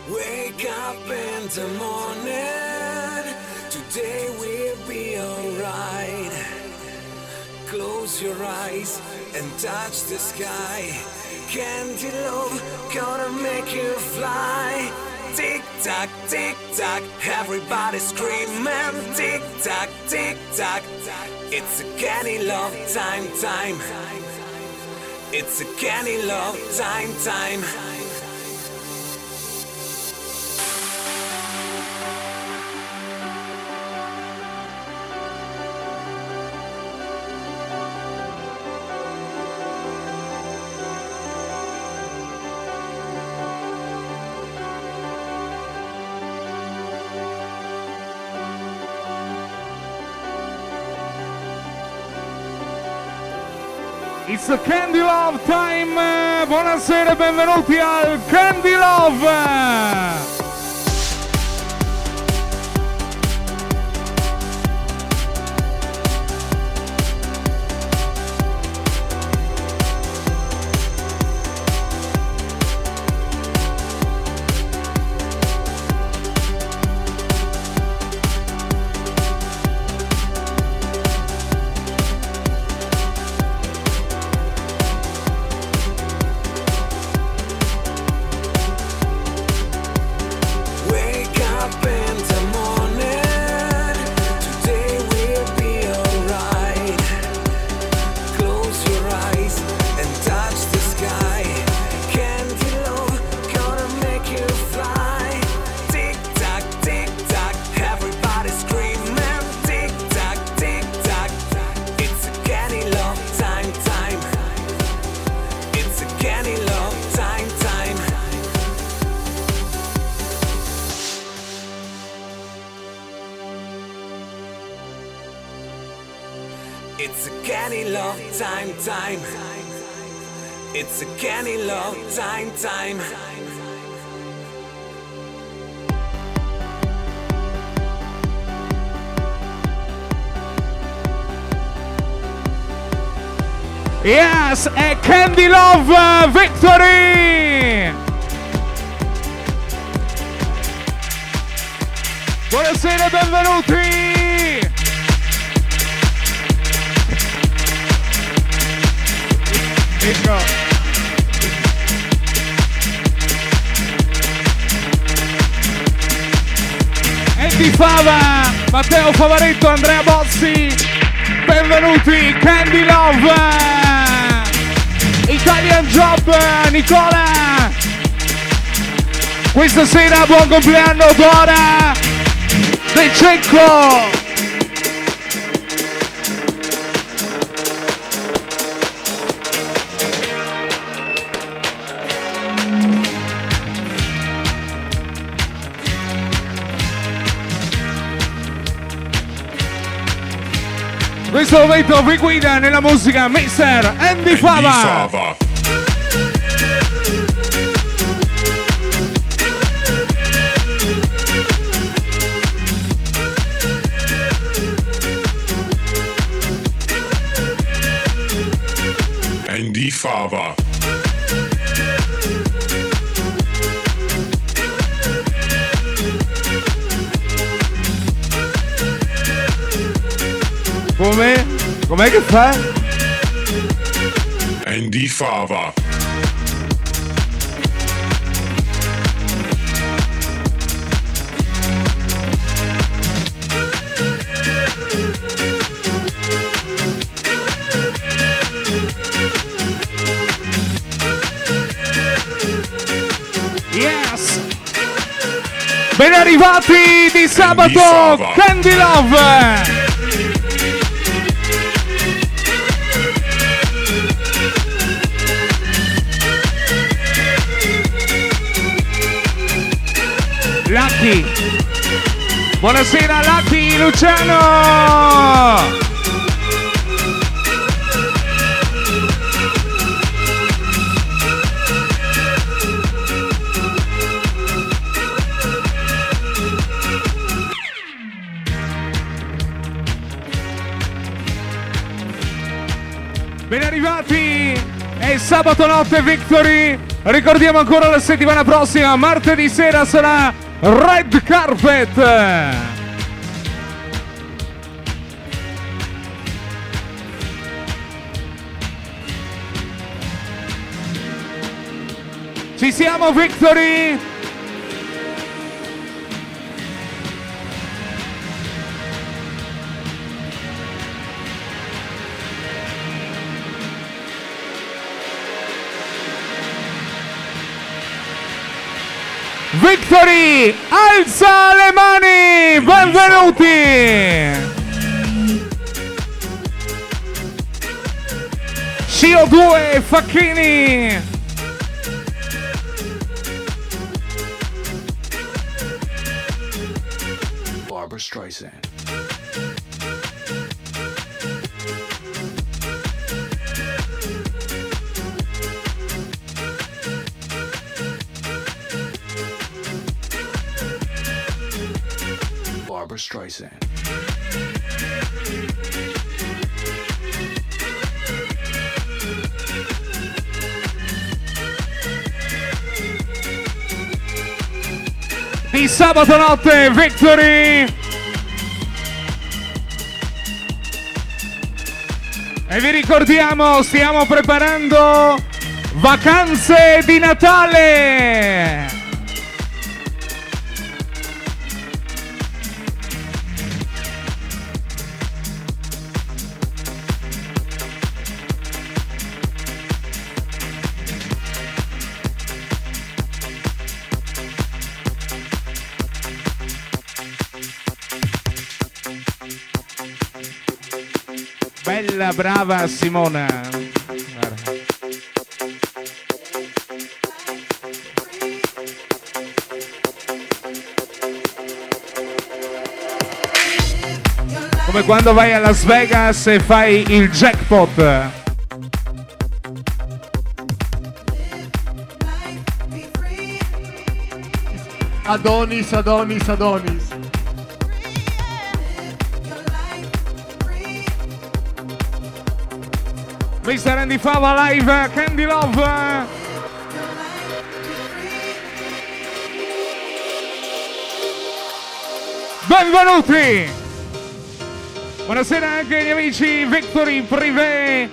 Wake up in the morning, today will be alright. Close your eyes and touch the sky. Candy love, gonna make you fly. Tick tock, everybody screaming. Tick tock, it's a candy love time. It's a candy love time. It's a Candy Love time! Buonasera e benvenuti al Candy Love! It's a candy love time. It's a candy love time. Yes, è Candy Love Victory! Buonasera e benvenuti! Andy Fava, Matteo Favaretto, Andrea Bossi, benvenuti, Candy Love, Italian Job, Nicola, questa sera buon compleanno Dora De Cecco. Questo momento vi guida nella musica Mr. Andy Fava. Andy Fava. Com'è che fa? Andy Fava. Yes! Ben arrivati di sabato, Candy Love! Lucky, buonasera Lucky, Luciano. Ben arrivati, è sabato notte Victory. Ricordiamo ancora la settimana prossima, martedì sera sarà Red Carpet. Ci siamo, Victory? Victory, alza le mani, benvenuti! CO2, Facchini! Barbra Streisand. Barbra Streisand. Di sabato notte, Victory! E vi ricordiamo, stiamo preparando vacanze di Natale! Bella, brava Simona. Guarda. Come quando vai a Las Vegas e fai il jackpot. Adonis, Adonis, Adonis. Mr. Andy Fava live, Candy Love. Benvenuti. Buonasera anche agli amici Victory Privé.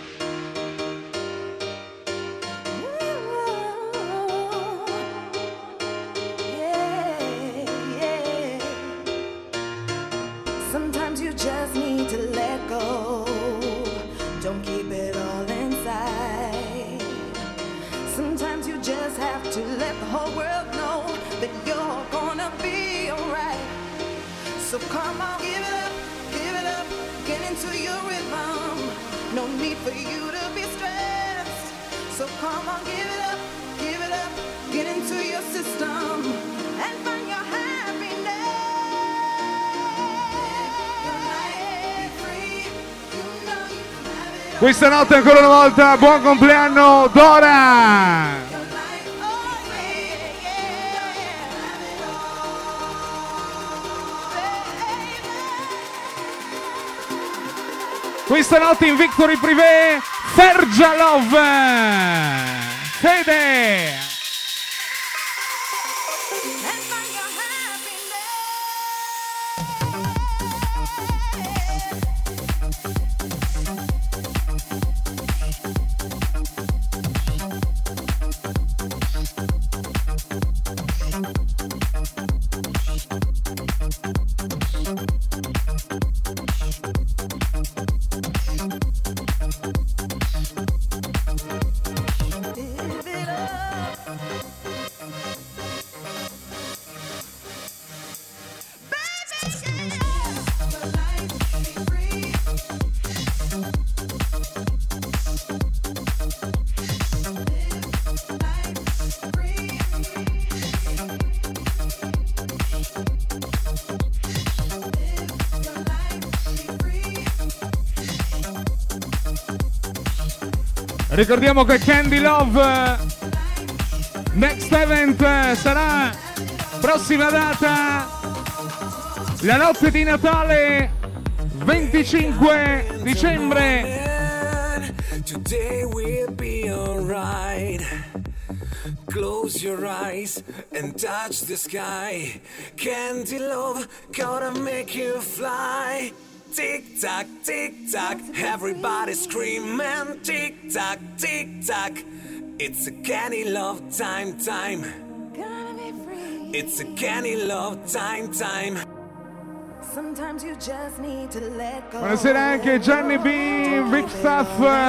Sometimes you just need to let go. Don't keep it all inside. Sometimes you just have to let the whole world know that you're gonna be alright. So come on, give it up, get into your rhythm. No need for you to be stressed. So come on, give it up, get into your system and find your happiness. Questa notte ancora una volta buon compleanno Dora! Questa notte in Victory Privé Fergia Love! Fede! Ricordiamo che Candy Love Next Event sarà prossima data la notte di Natale 25 dicembre. Today we'll be alright. Close your eyes and touch the sky. Candy love, gonna make you fly. Tick tock, everybody screaming. Tick tock, it's a candy love time. Gonna be free. It's a candy love time. Sometimes you just need to let go. Buonasera anche Gianni B, Big Stuff.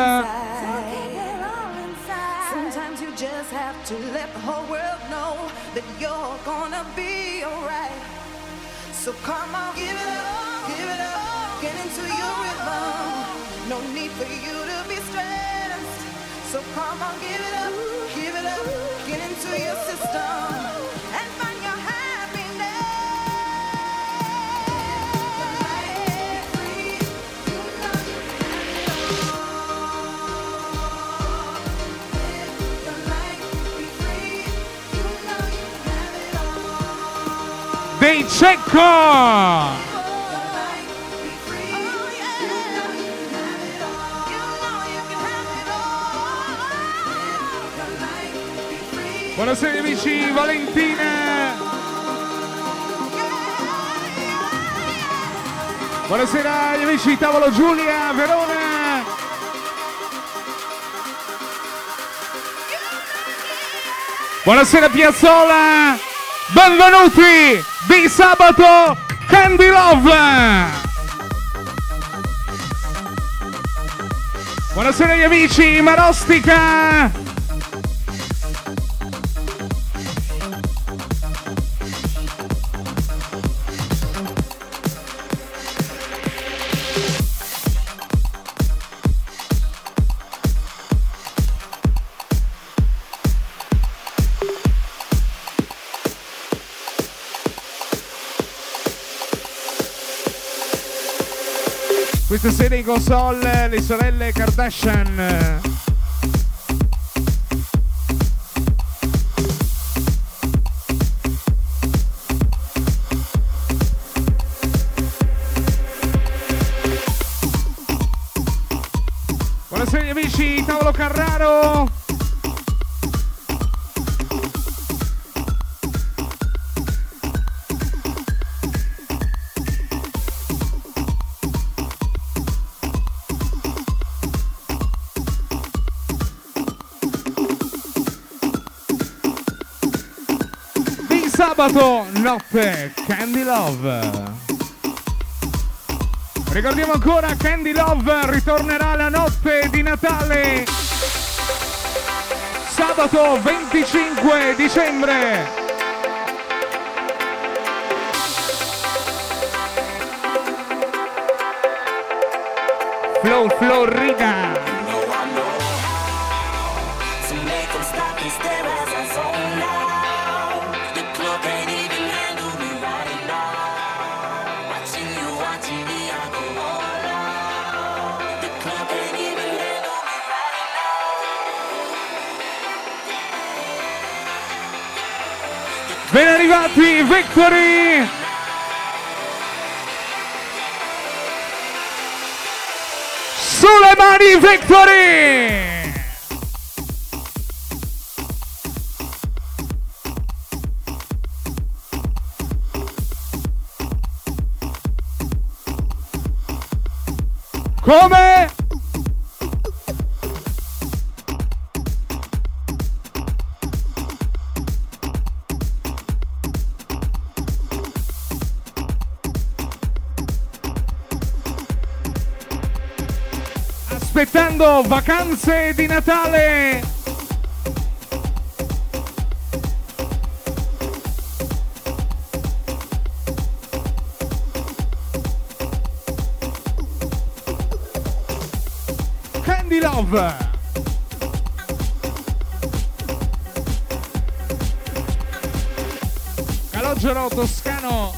Sometimes you just have to let the whole world know that you're gonna be alright. So come on, give it up, get into your rhythm. No need for you to be stressed. So come on, give it up, get into your system and find your happiness. Free, you know you can live your life, be free, you know you have it all. Dei Cecco! Buonasera amici, Valentina! Buonasera agli amici di Tavolo Giulia, Verona! Buonasera Piazzola! Benvenuti di sabato Candy Love! Buonasera agli amici Marostica! Questa sera in console le sorelle Kardashian. Buonasera agli amici, Tavolo Carraro. Sabato notte Candy Love. Ricordiamo ancora Candy Love ritornerà la notte di Natale sabato 25 dicembre. Florida. Ben arrivati Victory! Sulle mani Victory! Come? Aspettando vacanze di Natale. Candy Love. Calogero toscano.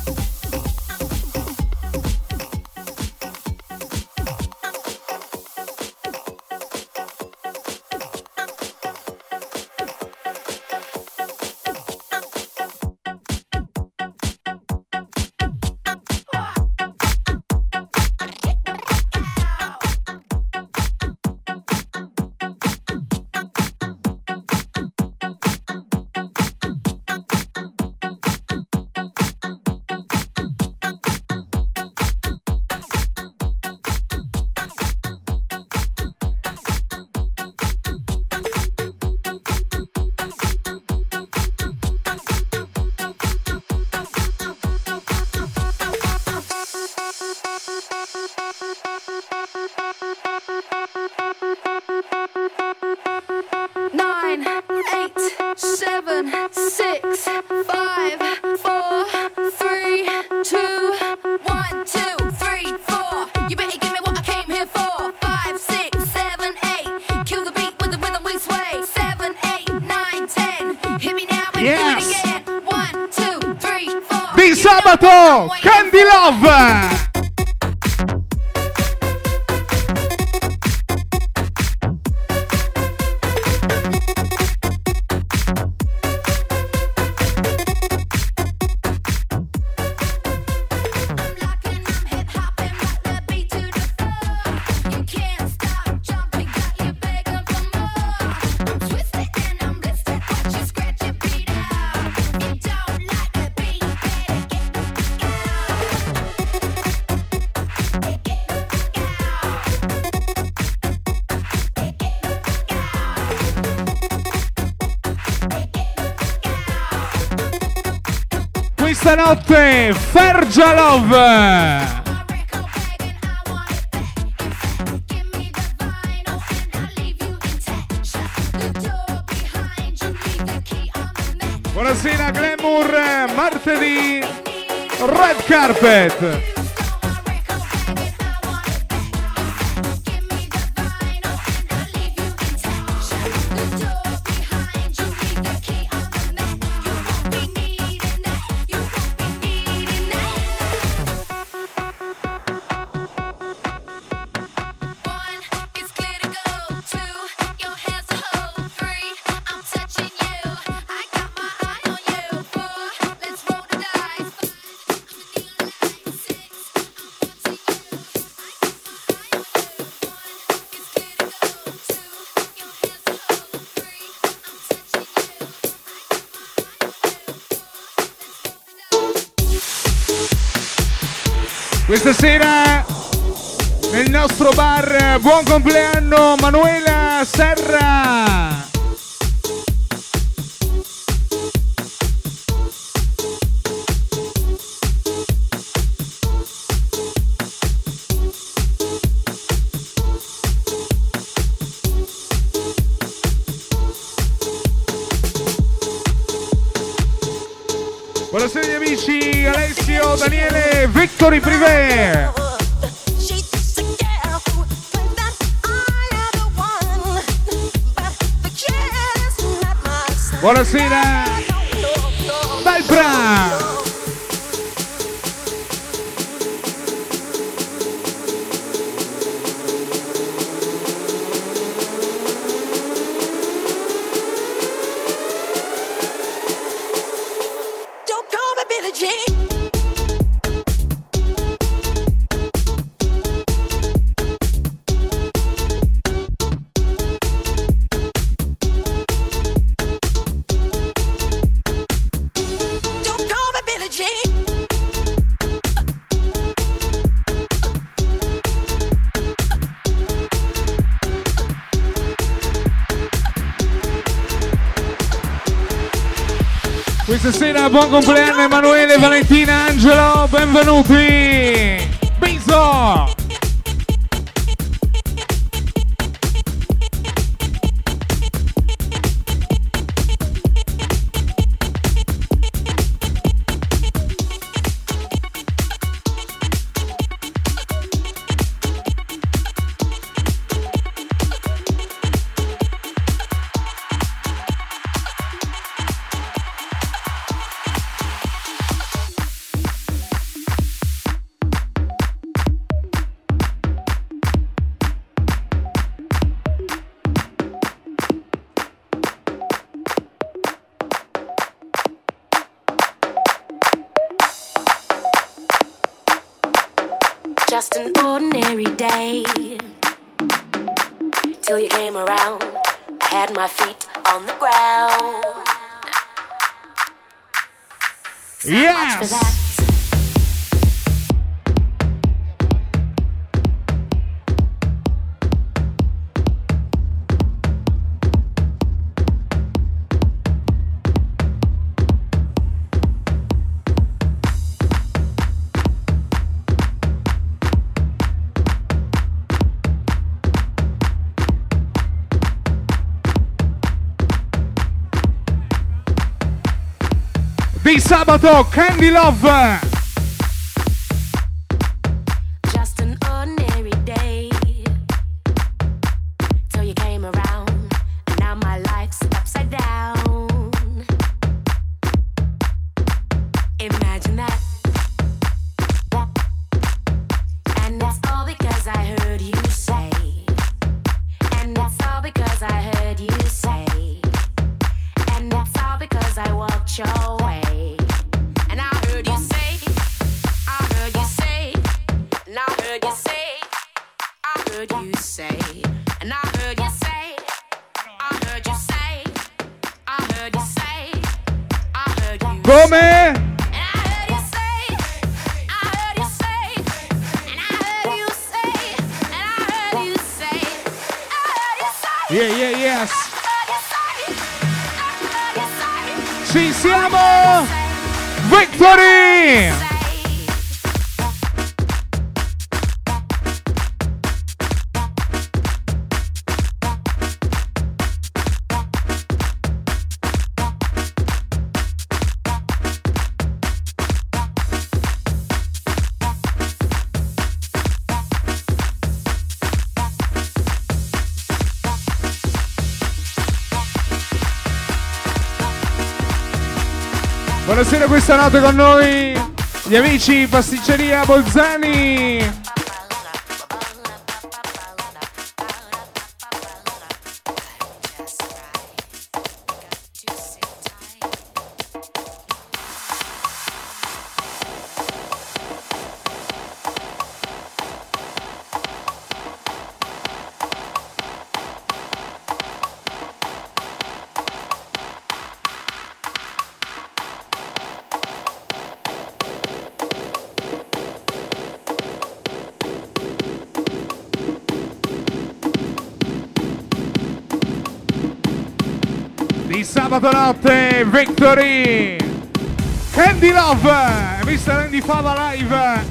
7, 6, 5, 4, 3, 2, 1, 2, 3, 4. You better give me what I came here for. 5, 6, 7, 8. Kill the beat with the rhythm we sway. 7, 8, 9, 10. Hit me now and do it again. 1, 2, 3, 4. Di sabato, Candy Love! Stanotte Fergia Love. Buonasera Glamour, martedì Red Carpet. Questa sera nel nostro bar buon compleanno Manuela Serra. Buonasera amici, Alessio, Daniele, Victory Privé. Buonasera, Dalbra. Questa sera buon compleanno Emanuele, Valentina, Angelo, benvenuti! Biso! Just an ordinary day till you came around. I had my feet on the ground. Yes! Much for that. di sabato, Candy Love. Just an ordinary day till you came around, and now my life's upside down. Imagine that. And it's all because I heard you say. And it's all because I heard you say. And it's all because I walked your way. And I heard you say, I heard you say, and I heard you say, I heard you say, and I heard you say, I heard you say, I heard you say, I heard you. Come? Yeah, yeah, yes. Ci siamo! Victory! Buonasera, questa notte con noi gli amici Pasticceria Bolzani. Di sabato notte, Victory, Candy Love, Mr. Andy Fava live.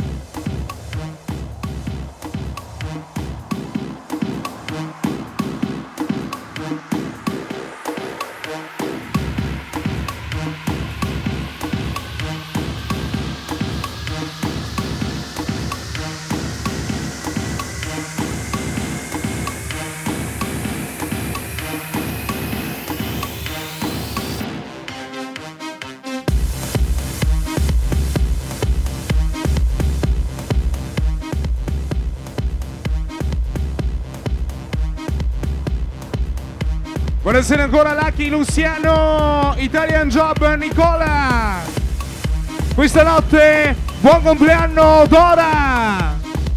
Buonasera ancora Lucky, Luciano, Italian Job, Nicola. Questa notte buon compleanno Dora.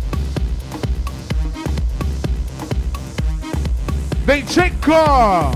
Del Cecco.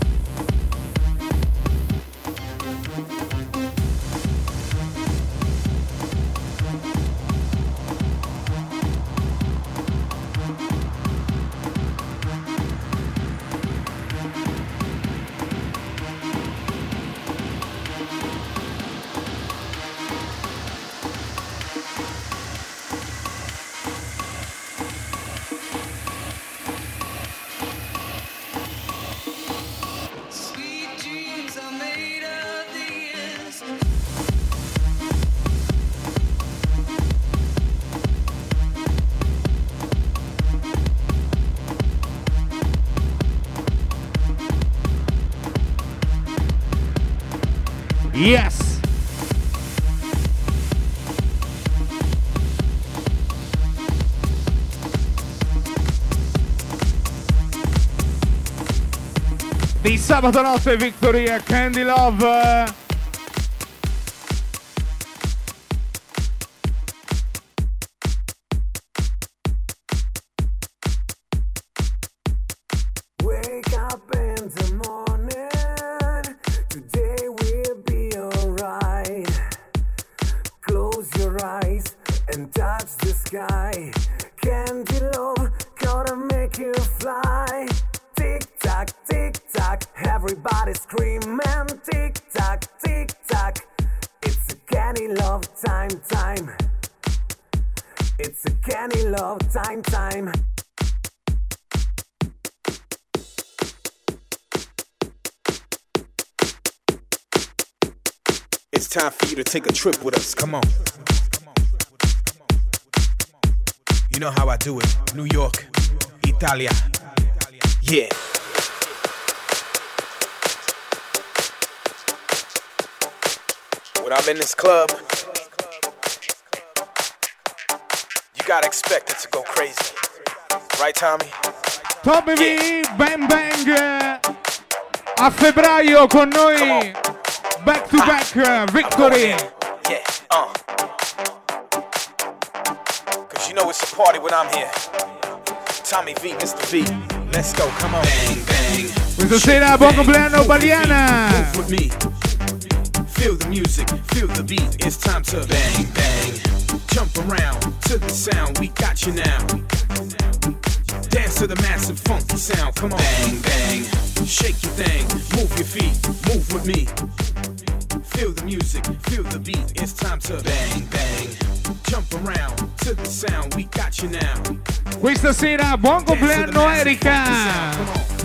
Yes! Di sabato notte Victoria, Candy Love. Wake up in the morning, today will be alright. Close your eyes and touch the sky. Candy love, gonna make you fly. Tick tock, everybody screaming. Tick tock, it's a candy love time. It's a candy love time. time for you to take a trip with us. Come on. You know how I do it. New York, Italia. Yeah. When I'm in this club, you gotta expect it to go crazy. Right, Tommy? Tommy V, Bang Bang. A febbraio con noi. Back to back, Victory. Yeah, Cause you know it's a party when I'm here. Tommy V, Mr. V. Let's go, come on. Bang, bang. Questa sera buon compleanno Baliana. Move with me. Feel the music, feel the beat. It's time to bang, bang. Jump around to the sound. We got you now. Dance to the massive funky sound. Come on. Bang, bang. Shake your thing. Move your feet. Move with me. Feel the music, feel the beat. It's time to bang, bang. Jump around to the sound. We got you now. Questa sera buon compleanno Erika.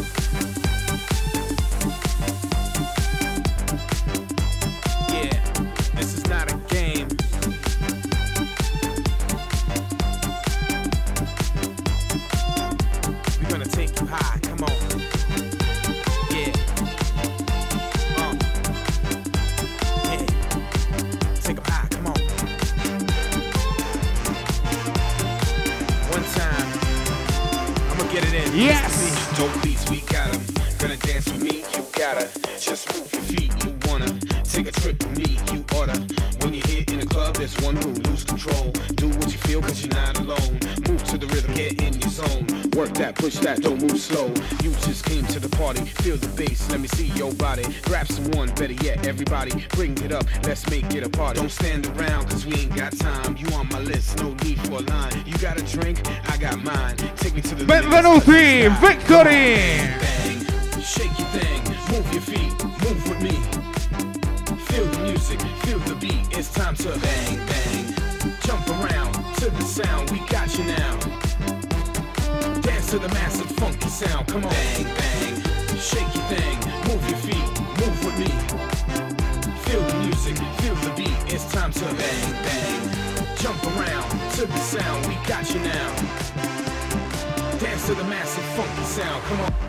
Yes! Don't please, we got 'em. Gonna dance with me, you gotta just move your feet. You wanna take a trip with me, you oughta. When you're here in the club, there's one rule, lose control. Do what you feel, cause you're not alone. Move to the rhythm, get in your zone. Work that, push that, don't move slow. You just came to the party, feel the bass, let me see your body. Grab someone, better yet, everybody, bring it up, let's make it a party. Don't stand around, cause we ain't got time. You on my list, no need for a line. You got a drink, I got mine. Take me to the Benvenuti, Victory! Bang, shake your thing, move your feet, move with me. Feel the music, feel the beat, it's time to bang, bang. Jump around to the sound, we got you now. Dance to the massive funky sound, come on. Bang, bang, shake your thing, move your feet, move with me. Feel the music, feel the beat, it's time to bang, bang. Jump around to the sound, we got you now. Dance to the massive funky sound, come on.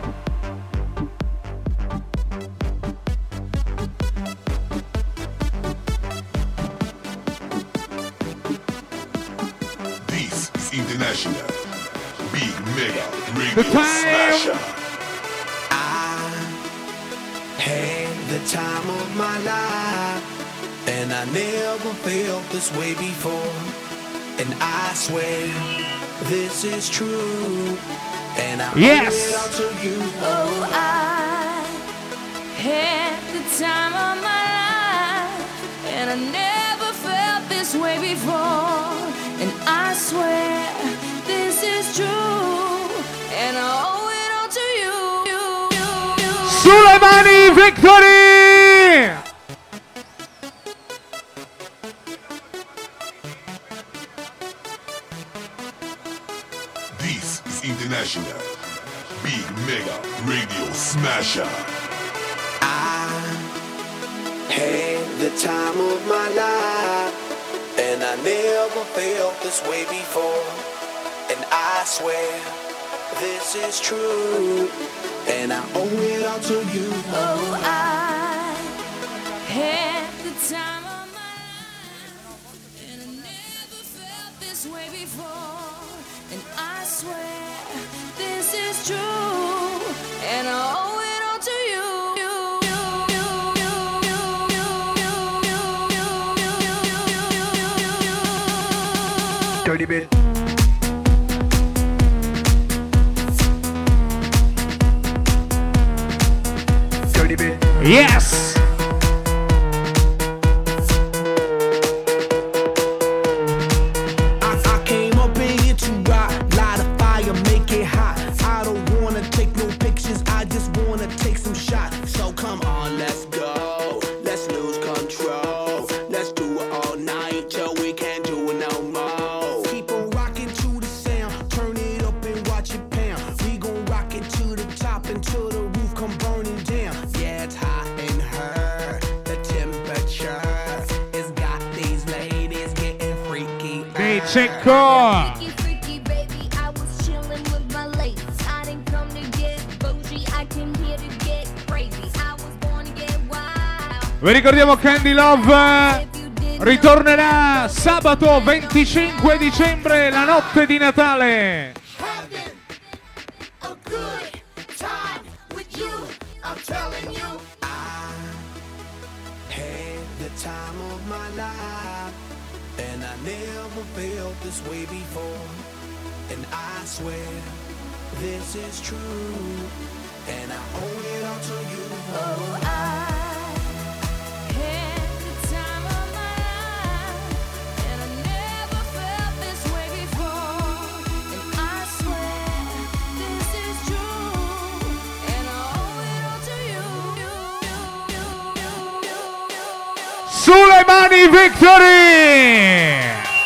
This is International Big Mega The Radio time. Smasher. I had the time of my life, and I never felt this way before. And I swear this is true, and I Yes. owe it all to you. Oh, I had the time of my life, and I never felt this way before. And I swear this is true, and I owe it all to you. Sulle mani, Victory! This is International Big Mega Radio Smasher. I had the time of my life, and I never felt this way before. And I swear this is true, and I owe it all to you. Oh, I had the time of my life, and I never felt this way before. And I swear this is true, and I owe it all to you. Dirty bit. Dirty bit. Yes! I came up in here to rock, light a fire, make it hot. I don't wanna take no pictures, I just wanna take some shots. So come on, let's go, let's lose control. Let's do it all night till we can't do it no more. Keep on rocking to the sound, turn it up and watch it pound. We gon' rock it to the top until the roof come burning down. Yeah, it's hot in her. Cecco. Vi ricordiamo Candy Love ritornerà sabato 25 dicembre, la notte di Natale. Time of my life, and I never felt this way before, and I swear this is true, and I owe it all to you. Oh, I had the time of my life, and I never felt this way before, and I swear this is true, and I owe it all to you. Sulle mani Victory!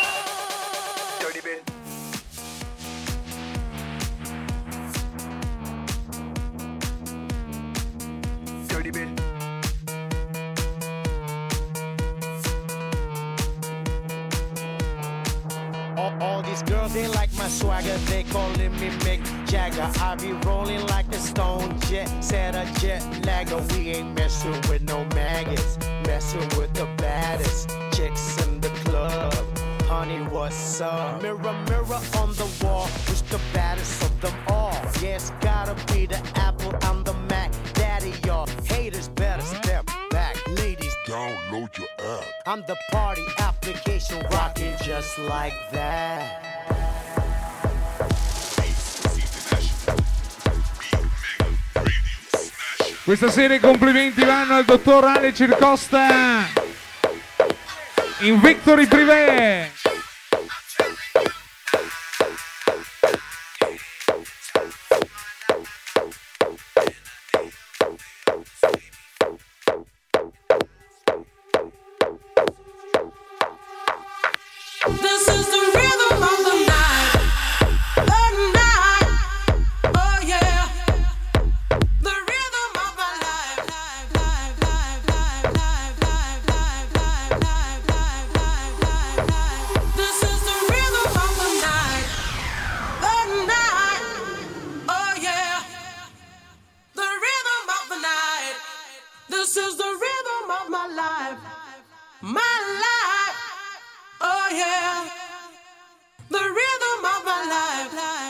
All these girls, they like my swagger, they calling me Mick Jagger. I be rolling like a stone jet, set a jet lagger. We ain't messing with no maggots, messing with the baddest chicks in the club. Honey, what's up? Mirror, mirror on the wall, who's the baddest of them all? Yeah, it's gotta be the Apple, I'm the Mac. Daddy, y'all haters better step back. Ladies, download your app. I'm the party application rocking just like that. Questa sera i complimenti vanno al dottor Ale Circosta in Victory Privé. This is the rhythm of the night, oh yeah. The rhythm of my life, This is the rhythm of the night, oh yeah. The rhythm of the night. This is the rhythm of my life, oh yeah. The rhythm of my life.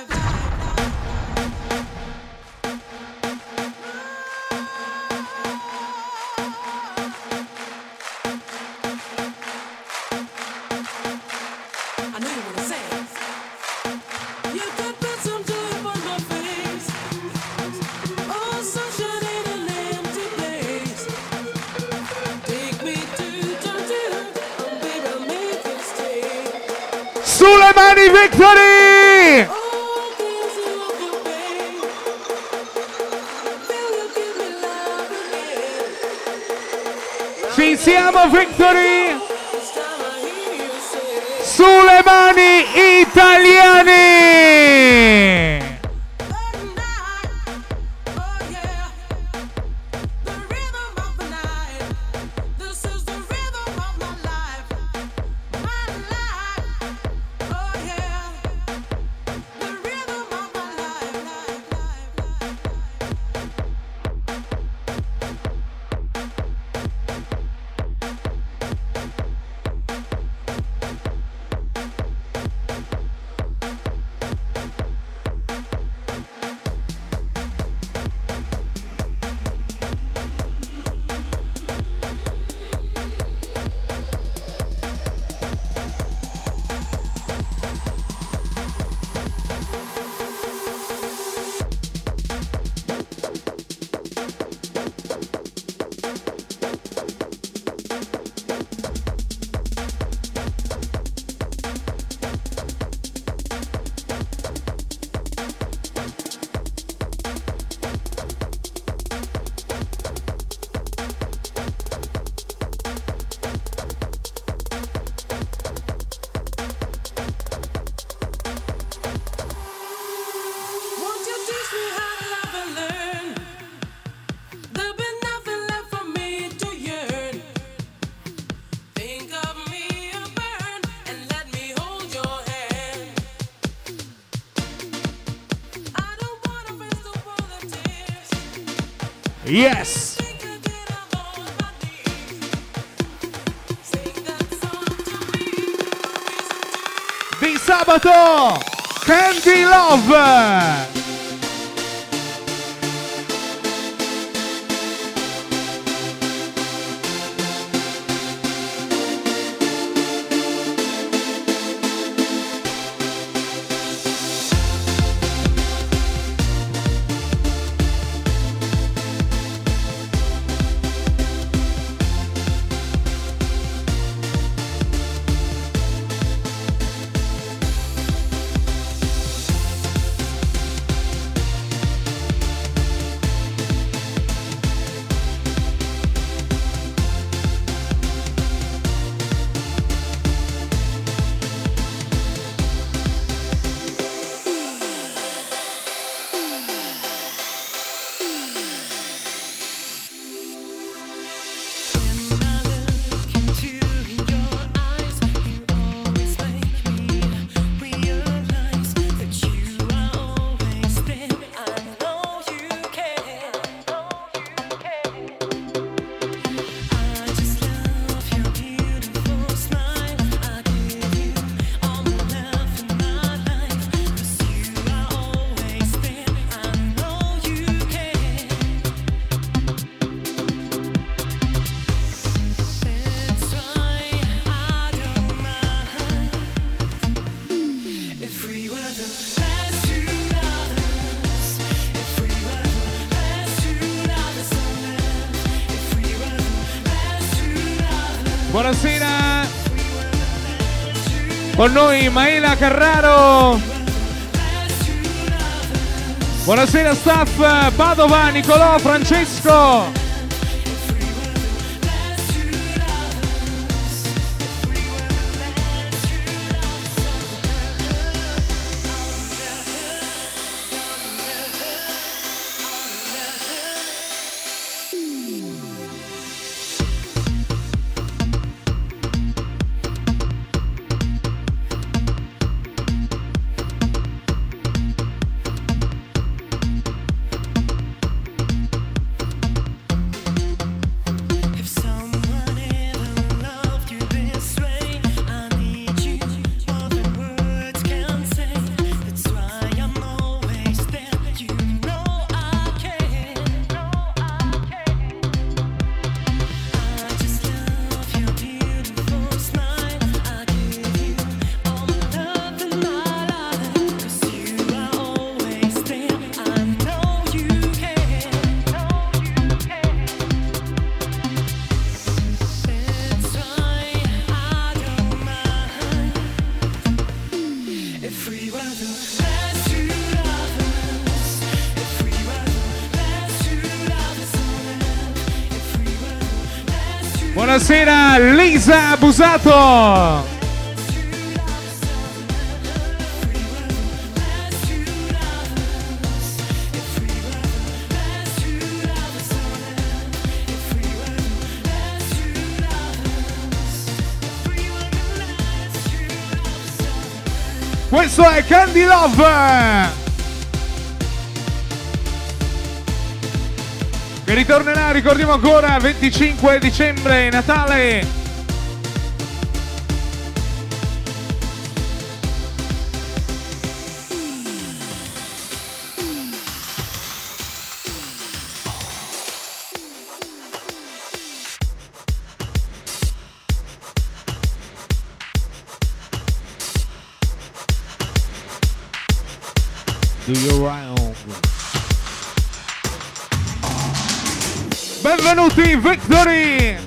I know you wanna say it. You could put some joy on my face. Oh, sunshine in an empty place. Take me to Georgia, oh baby, I'll make it stay. Sulle mani Victory! Ci siamo Victory! Sulle mani italiane! Yes! Di sabato! Candy Love! Buonasera, con noi Maela Carraro. Buonasera staff, Padova, Nicolò, Francesco. Buonasera Lisa Busato. Questo è Candy Love, che ritornerà, ricordiamo ancora, 25 dicembre, Natale. Do your round. Benvenuti Victory!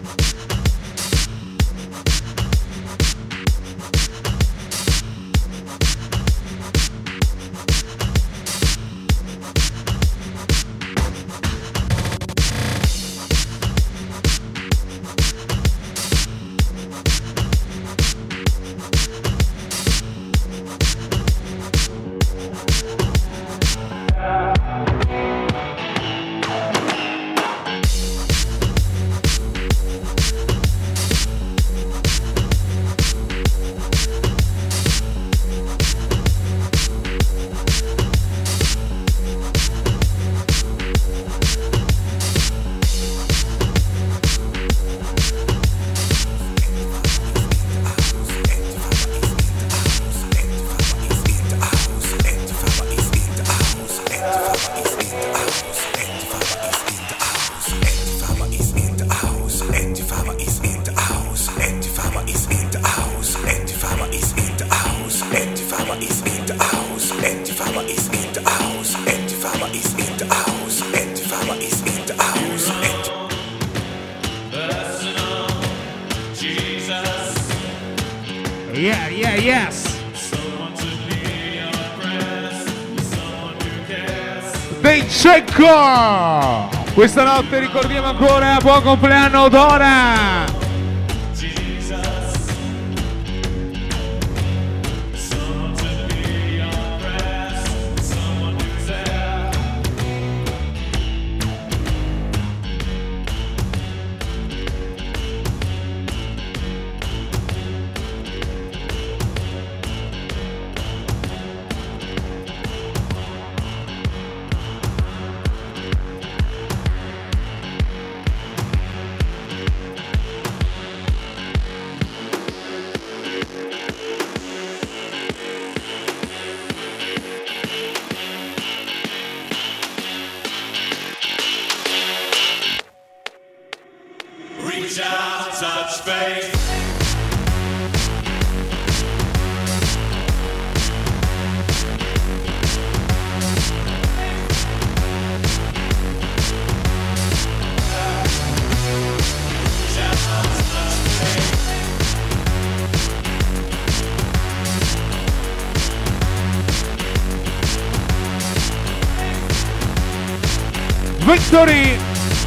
Yeah, yeah, yes. Dei Cecco! Questa notte ricordiamo ancora buon compleanno Dora! Reach out, touch faith. Victory!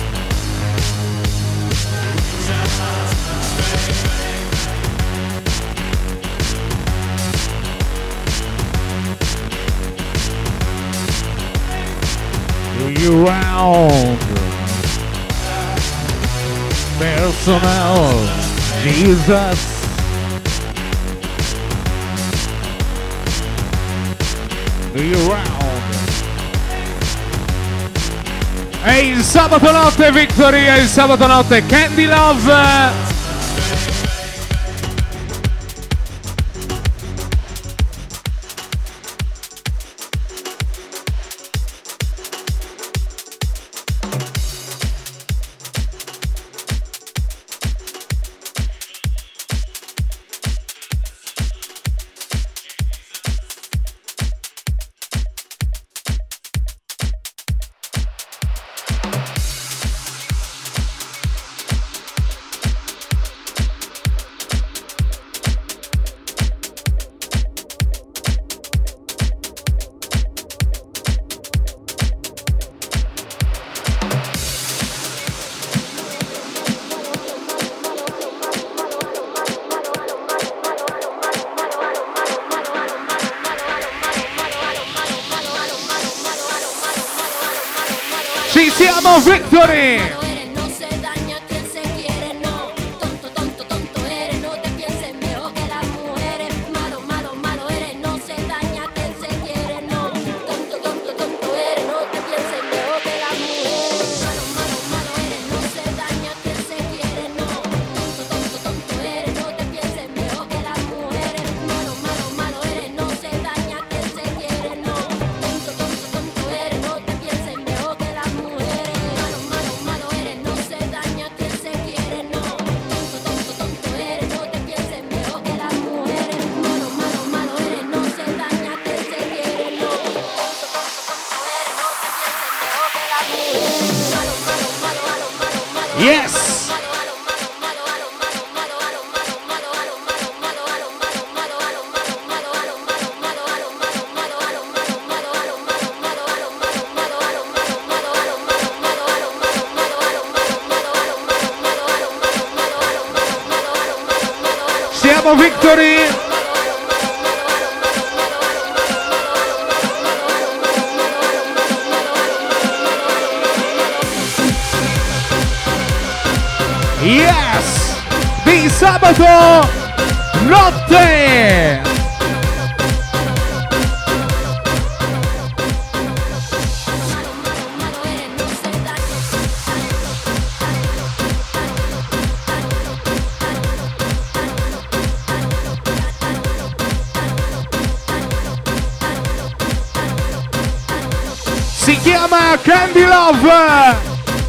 You round personal Jesus. You round. È il sabato notte Victory, è il sabato notte Candy Love. Ci siamo Victory! Yes! Siamo Victory! Yes! Di sabato notte! Si chiama Candy Love!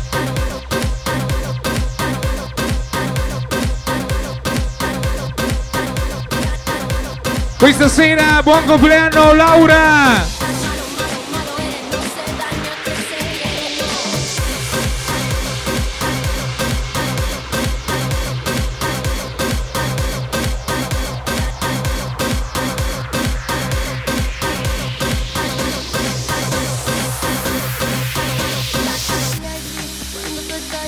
Questa sera buon compleanno Laura!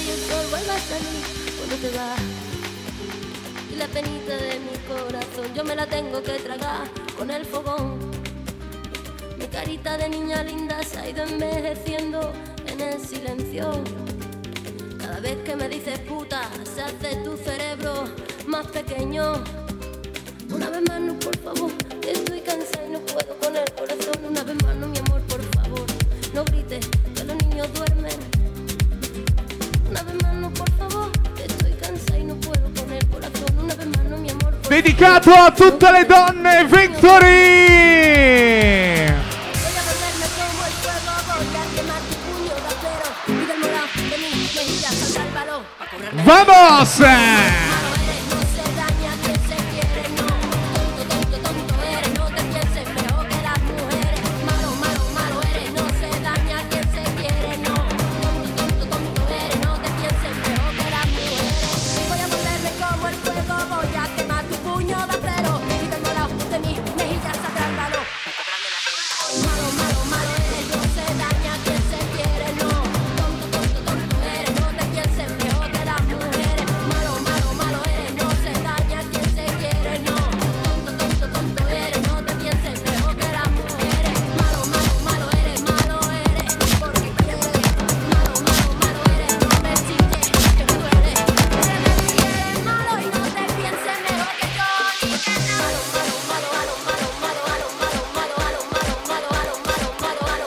y el sol vuelve a salir cuando te vas. Y la penita de mi corazón yo me la tengo que tragar con el fogón. Mi carita de niña linda se ha ido envejeciendo en el silencio. Cada vez que me dices puta se hace tu cerebro más pequeño. Una vez más no, por favor, que estoy cansada y no puedo con el corazón. Una vez más no, mi amor, por favor, no grites que los niños duermen. Una vez más no, por favor, que estoy cansada y no puedo con el corazón. Una vez más no, mi amor, por Dedicato favor. a tutte le donne, Victory! Voy a volverme como el fuego, voy a quemar tu puño de acero y del morado de mi mejilla salta el balón a correr. ¡Vamos! No se daña quien se quiere, no. Tonto, tonto, tonto eres, no te pienses mejor que las mujeres. Malo, malo, malo eres, no se daña quien se quiere, no. Tonto, tonto, tonto eres, no te pienses mejor que las mujeres. Voy a volverme como el fuego, voy a quemar tu puño de acero y del morado de mi mejilla saldrá el balón. Malo, malo, malo eres, no se daña quien se quiere, no. Tonto, tonto, tonto eres, no te pienses mejor que las mujeres. Malo, malo, malo eres, no se daña quien se quiere, no. Tonto, tonto, tonto eres, no te pienses mejor que las mujeres. Malo, malo, malo eres, porque quieres. Malo, malo, malo eres, no me chilles, que me duele. Eres malo y no te pienses mejor que yo, ni que nada. Malo, malo, malo, malo, malo, malo, malo, malo, malo, malo, malo, malo, malo,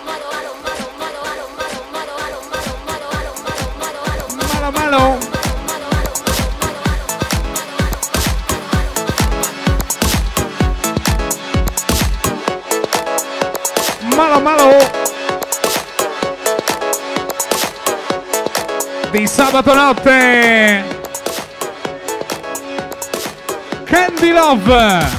Malo, malo. Malo, malo. Di sabato notte. Candy Love.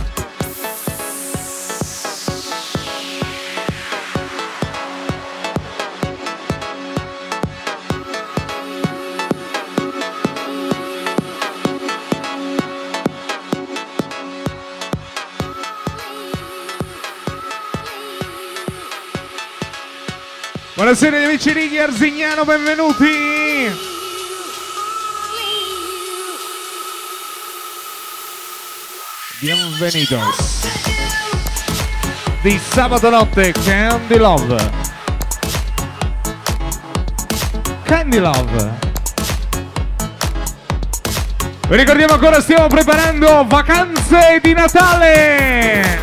Buonasera amici Righi Arzignano, benvenuti! Bienvenidos! Di sabato notte, Candy Love! Candy Love! Vi ricordiamo ancora, stiamo preparando vacanze di Natale!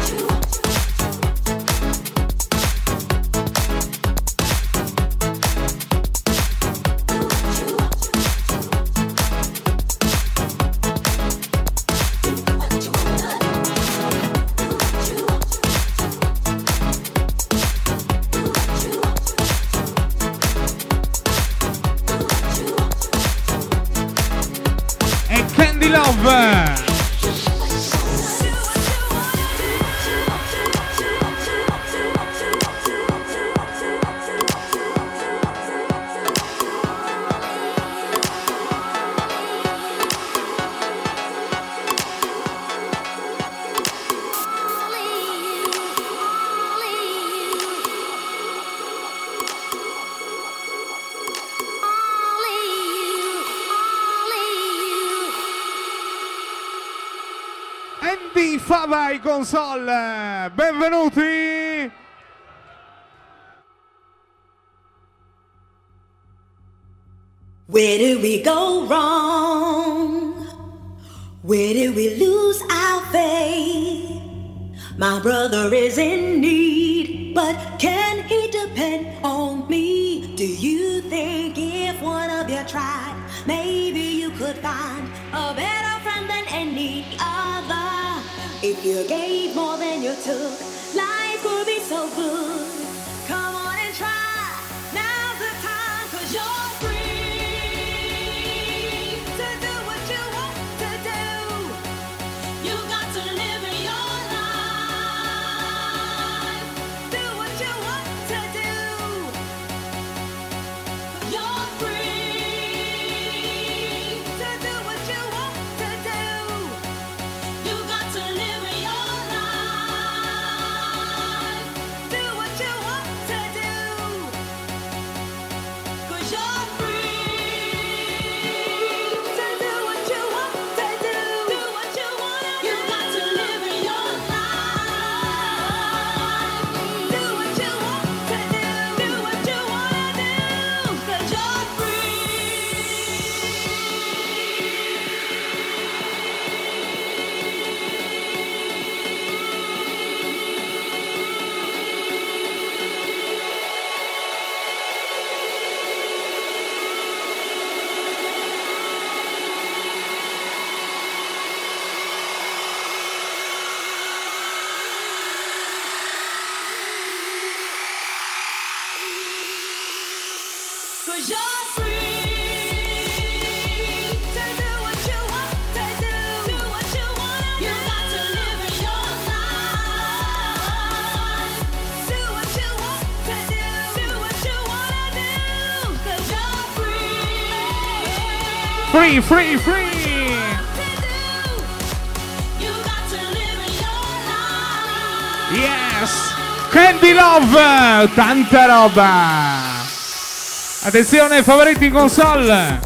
Andy Fava ai console, benvenuti! Where did we go wrong? Where did we lose our faith? My brother is in need, but can he depend on me? Do you think if one of you tried, maybe you could find a better friend than any other? If you gave more than you took, life would be so good. Come on and try, now's the time, 'cause you're free to do what you want to do. You got to live your life, do what you want to do. You're free to do what you want to do. You got to live your life, do what you want to do. 'Cause you're free. Free, free, free! Yes! Candy Love! Tanta roba! Attenzione, favoriti in console!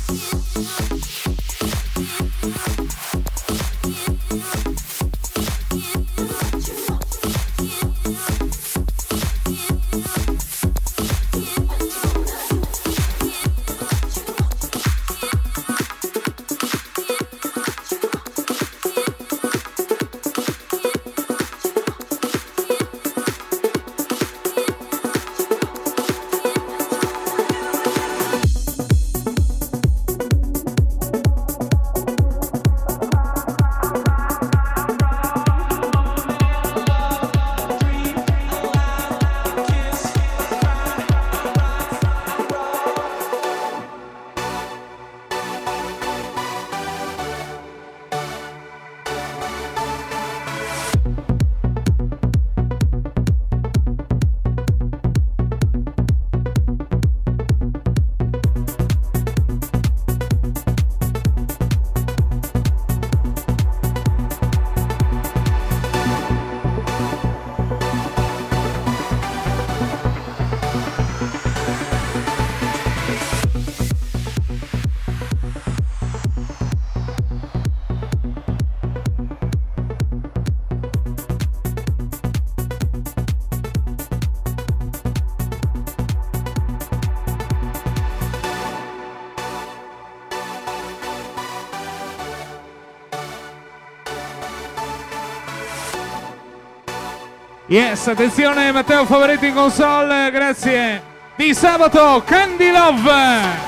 Yes, attenzione Matteo Favoretti in console, grazie. Di sabato, Candy Love.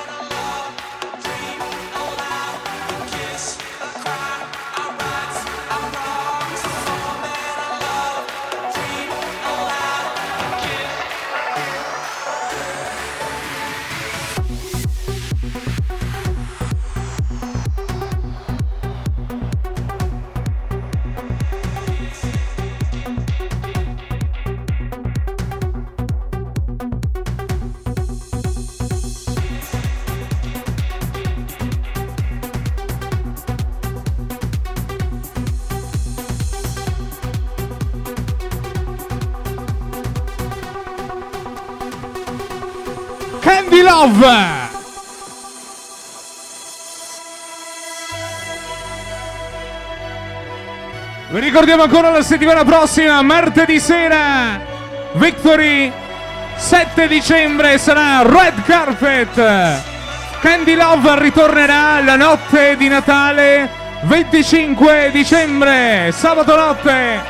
Candy Love. Vi ricordiamo ancora la settimana prossima, martedì sera, Victory, 7 dicembre sarà Red Carpet. Candy Love ritornerà la notte di Natale, 25 dicembre, sabato notte.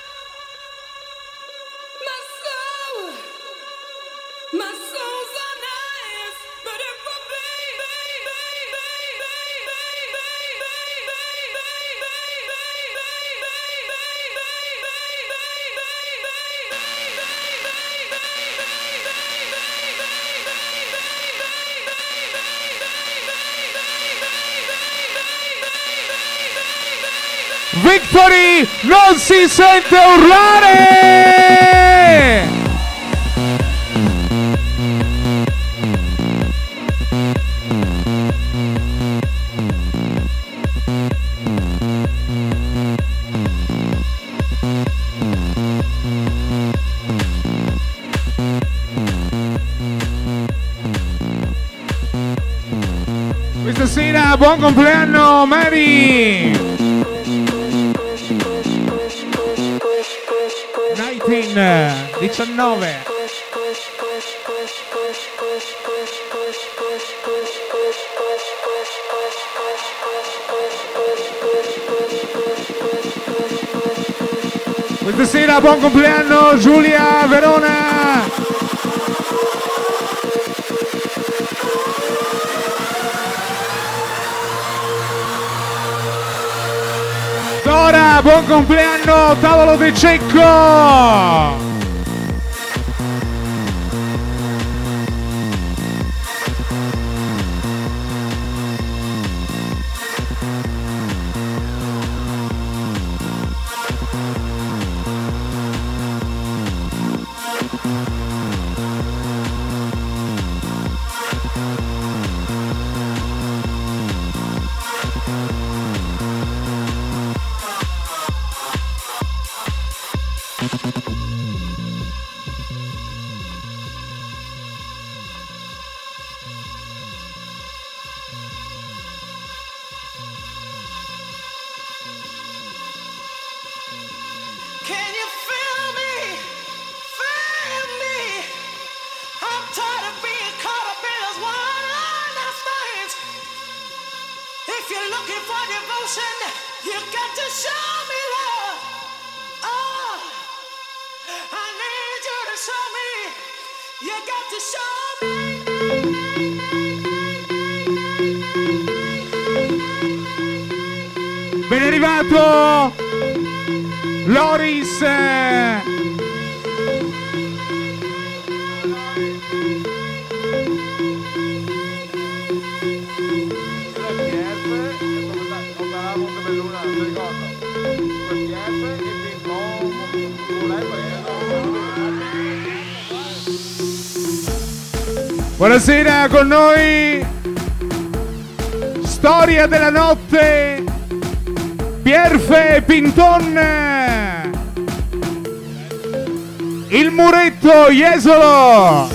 My soul's on Victory non si sente urlare! Questa sera buon compleanno Mary! 19. Questa sera buon compleanno Giulia Verona. Dora, buon compleanno Tavolo De Cecco. Ben arrivato Loris. Buonasera con noi. Storia della notte. Pierfe Pinton. Il muretto Jesolo.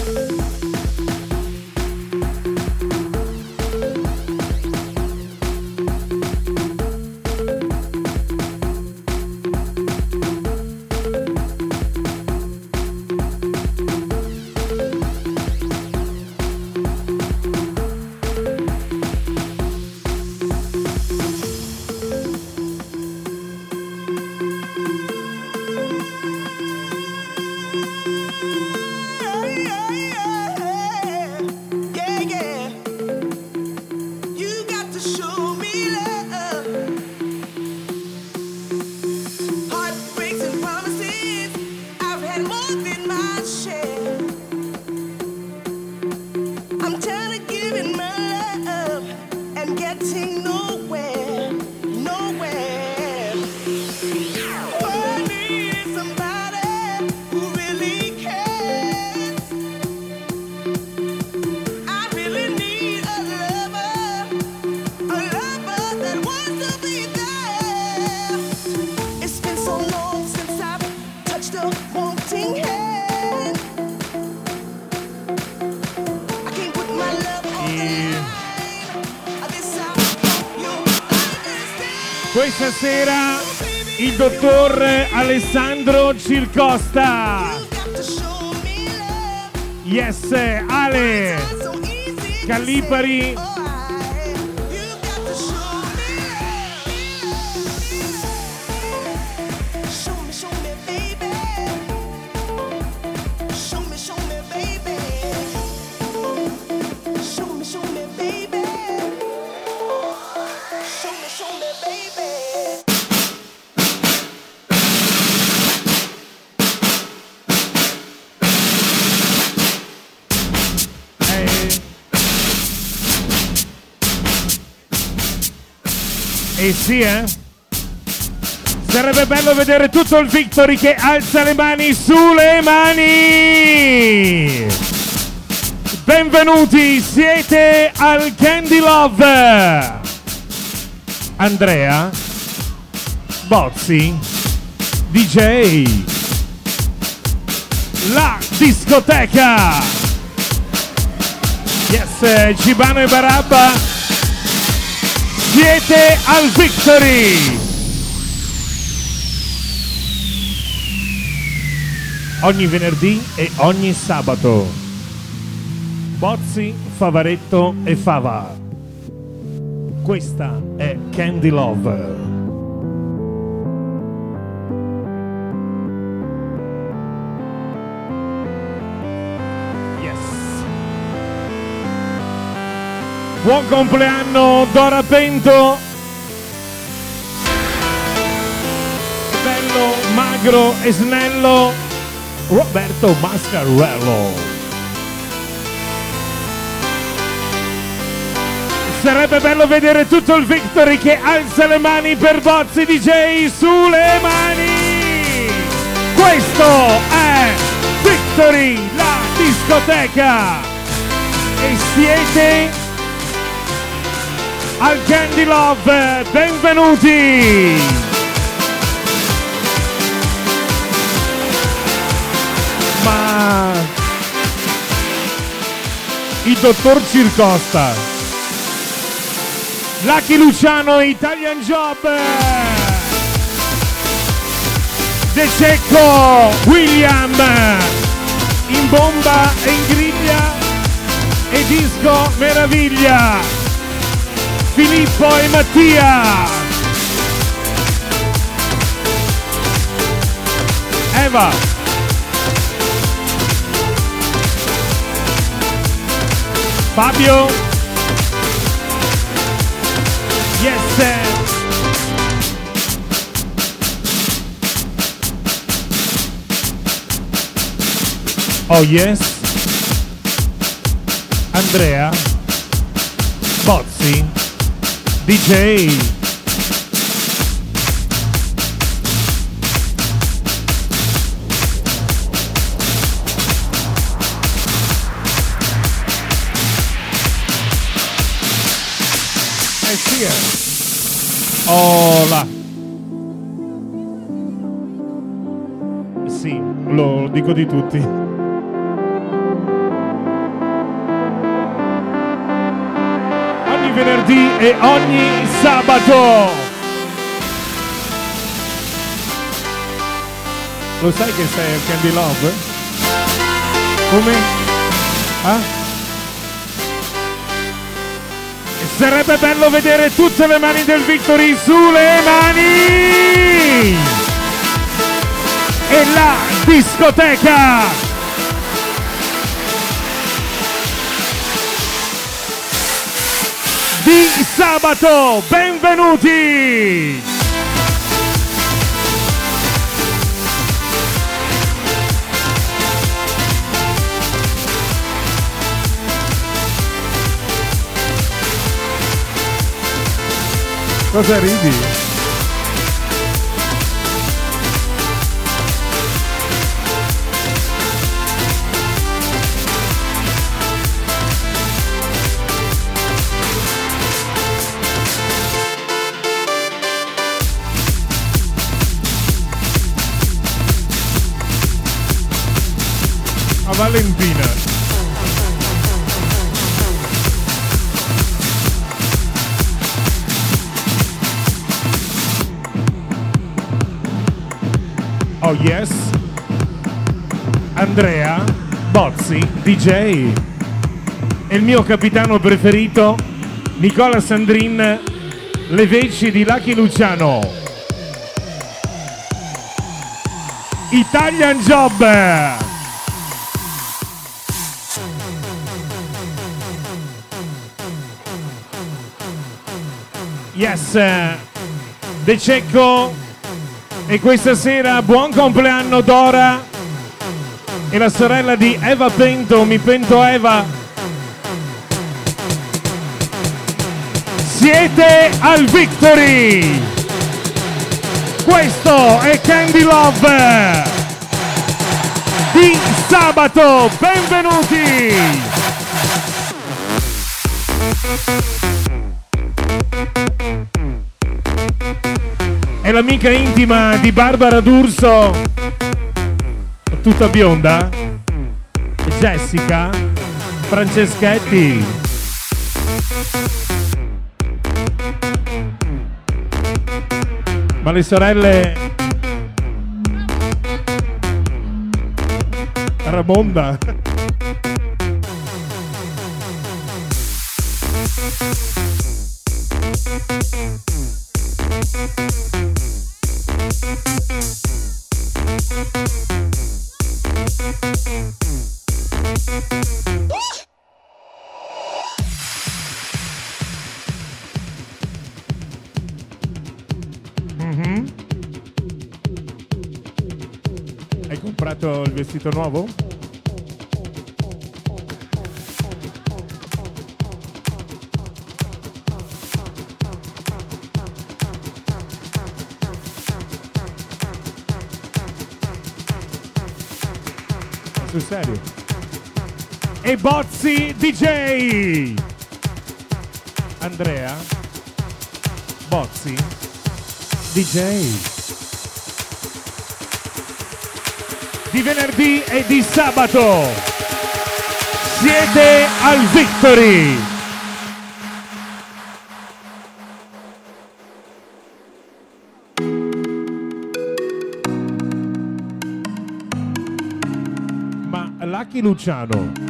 Questa sera il dottor Alessandro Cilcosta. Yes, Ale Callipari. E sì, sarebbe bello vedere tutto il Victory che alza le mani sulle mani. Benvenuti, siete al Candy Love. Andrea, Bozzi, DJ, la discoteca. Yes, Cibano e Barabba, siete al Victory. Ogni venerdì e ogni sabato. Bozzi, Favaretto e Fava. Questa è Candy Love. Buon compleanno Dora Pento. Bello, magro e snello Roberto Mascarello. Sarebbe bello vedere tutto il Victory che alza le mani per Bozzi DJ sulle mani. Questo è Victory, la discoteca. E siete al Candy Love, benvenuti! Ma il dottor Circosta, Lucky Luciano, Italian Job, De Cecco, William, in bomba e in griglia e disco meraviglia. Filippo e Mattia, Eva, Fabio, yes, oh yes, Andrea, Bozzi, DJ. Sì. Oh là. Sì, lo dico di tutti. Venerdì e ogni sabato. Lo sai che sei al Candy Love? Come? Ah? E sarebbe bello vedere tutte le mani del Victory sulle mani. E la discoteca. Di sabato, benvenuti! Cosa ridi? Valentina. Oh yes. Andrea Bozzi DJ. E il mio capitano preferito Nicola Sandrin, le veci di Lucky Luciano. Italian Job. Yes, De Cecco, e questa sera buon compleanno Dora e la sorella di Eva Pento, mi pento Eva. Siete al Victory. Questo è Candy Love di sabato. Benvenuti. È l'amica intima di Barbara D'Urso, tutta bionda, Jessica Franceschetti. Ma le sorelle Ramonda. Hai comprato il vestito nuovo? Sul serio? E Bozzi DJ! Andrea Bozzi DJ di venerdì e di sabato. Siete al Victory. Ma Lucky Luciano,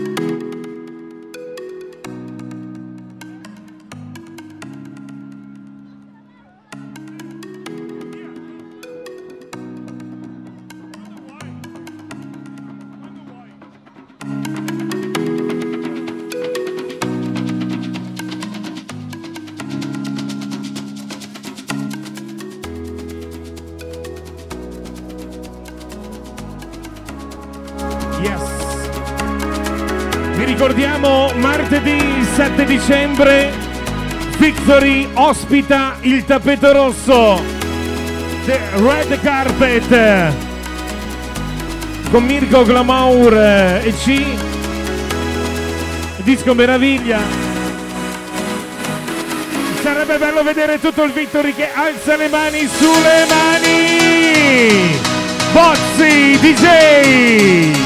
ricordiamo martedì 7 dicembre Victory ospita il tappeto rosso, The Red Carpet, con Mirko Glamour e C, Disco Meraviglia. Sarebbe bello vedere tutto il Victory che alza le mani sulle mani. Bozzi DJ.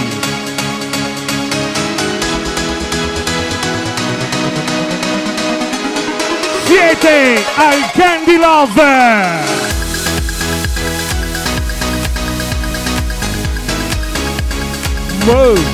Siete al Candy Love! Wow!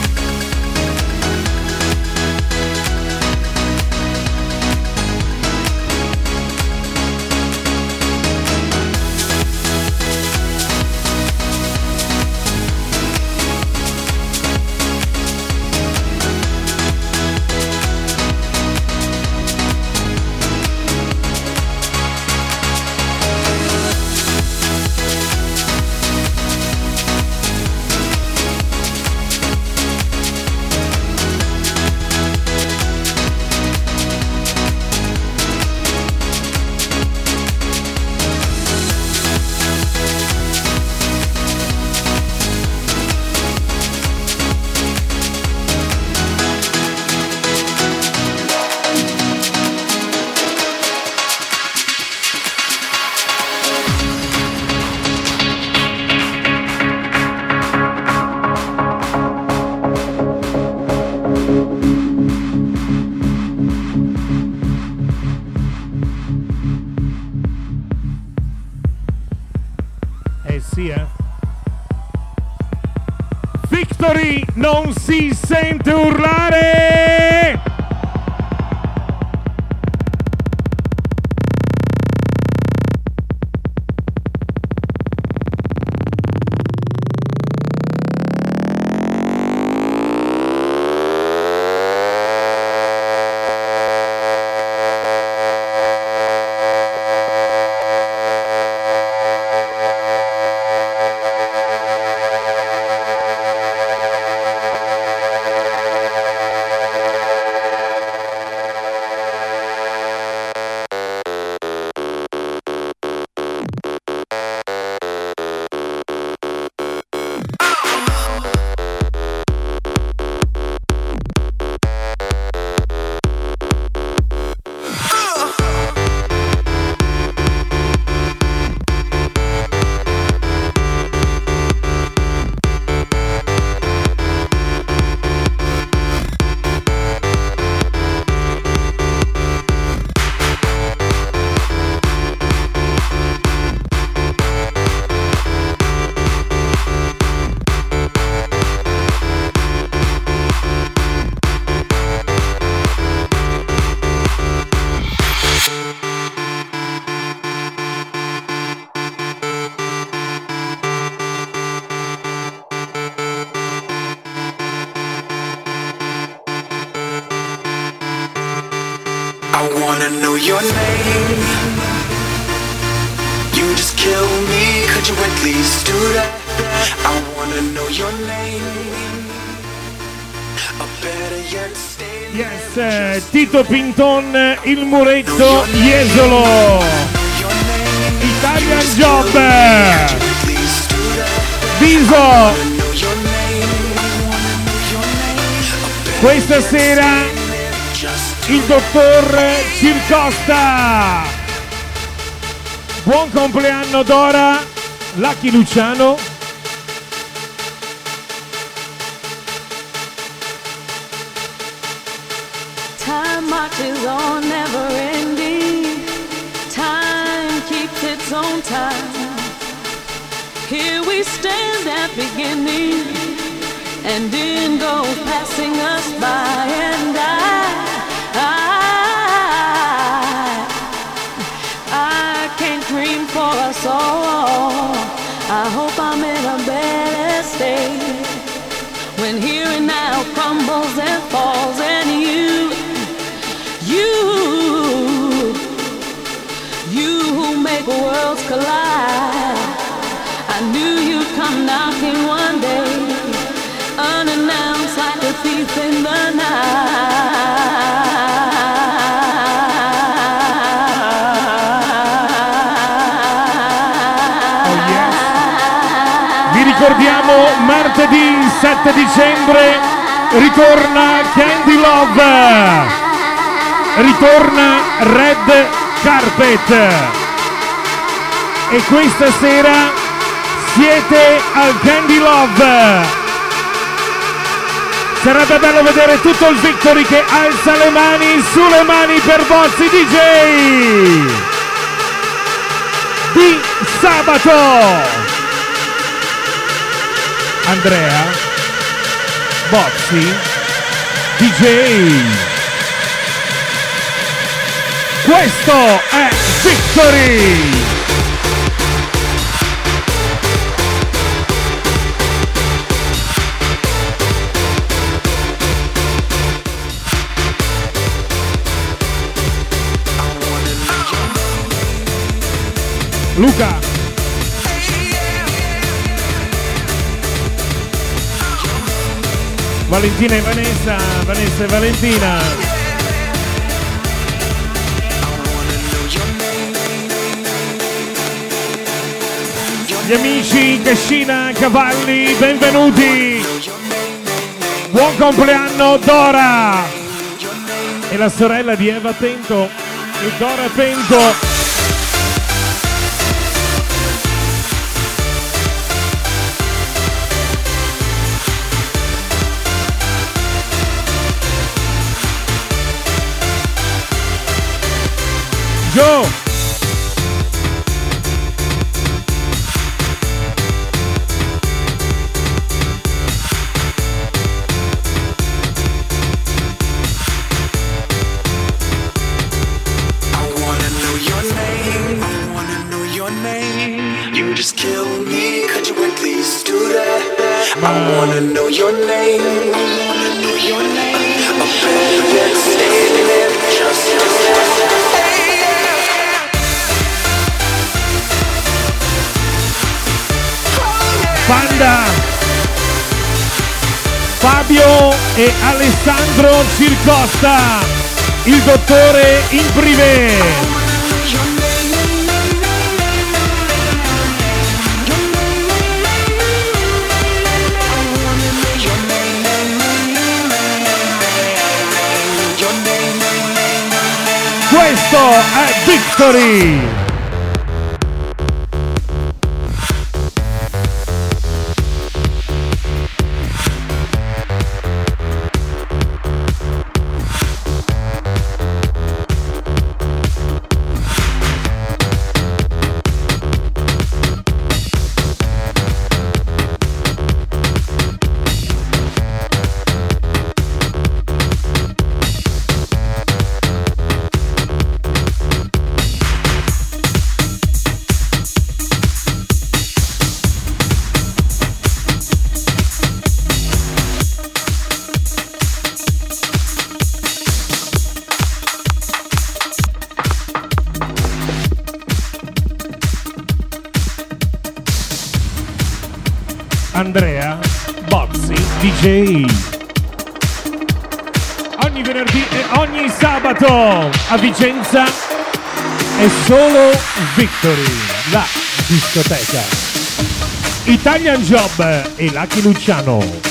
Victory non si sente urlare! I wanna know your name. You just kill me, could you at least do that? I wanna know your name. Or better yet, stay. Yes, Tito Pinton, il muretto, Jesolo, Italian Job, Viso. Questa sera il dottor Circosta. Buon compleanno Dora, Lucky Luciano. Time marches on, never ending. Time keeps its own time. Here we stand at beginning, and in goes passing us by. And I can't dream for us all. I hope I'm in a better state when here and now crumbles and falls, and you who make worlds collide. I knew you'd come knocking one day, unannounced like a thief in the night. Vi ricordiamo martedì 7 dicembre ritorna Candy Love, ritorna Red Carpet, e questa sera siete al Candy Love. Sarebbe bello vedere tutto il Victory che alza le mani, sulle mani per Bozzi DJ di sabato. Andrea Bozzi DJ. Questo è Victory. Luca. Valentina e Vanessa, Vanessa e Valentina. Gli amici Cascina Cavalli, benvenuti. Buon compleanno Dora. E la sorella di Eva Pento e Dora Pento. Joe. You just kill me, could you at least do that? I wanna know your name. I wanna know your name. Or better yet, stay there, just do that. Panda, Fabio e Alessandro Circosta, il dottore in privé. Questo è Victory! Andrea Bozzi DJ. Ogni venerdì e ogni sabato a Vicenza è solo Victory, la discoteca. Italian Job e Lucky Luciano.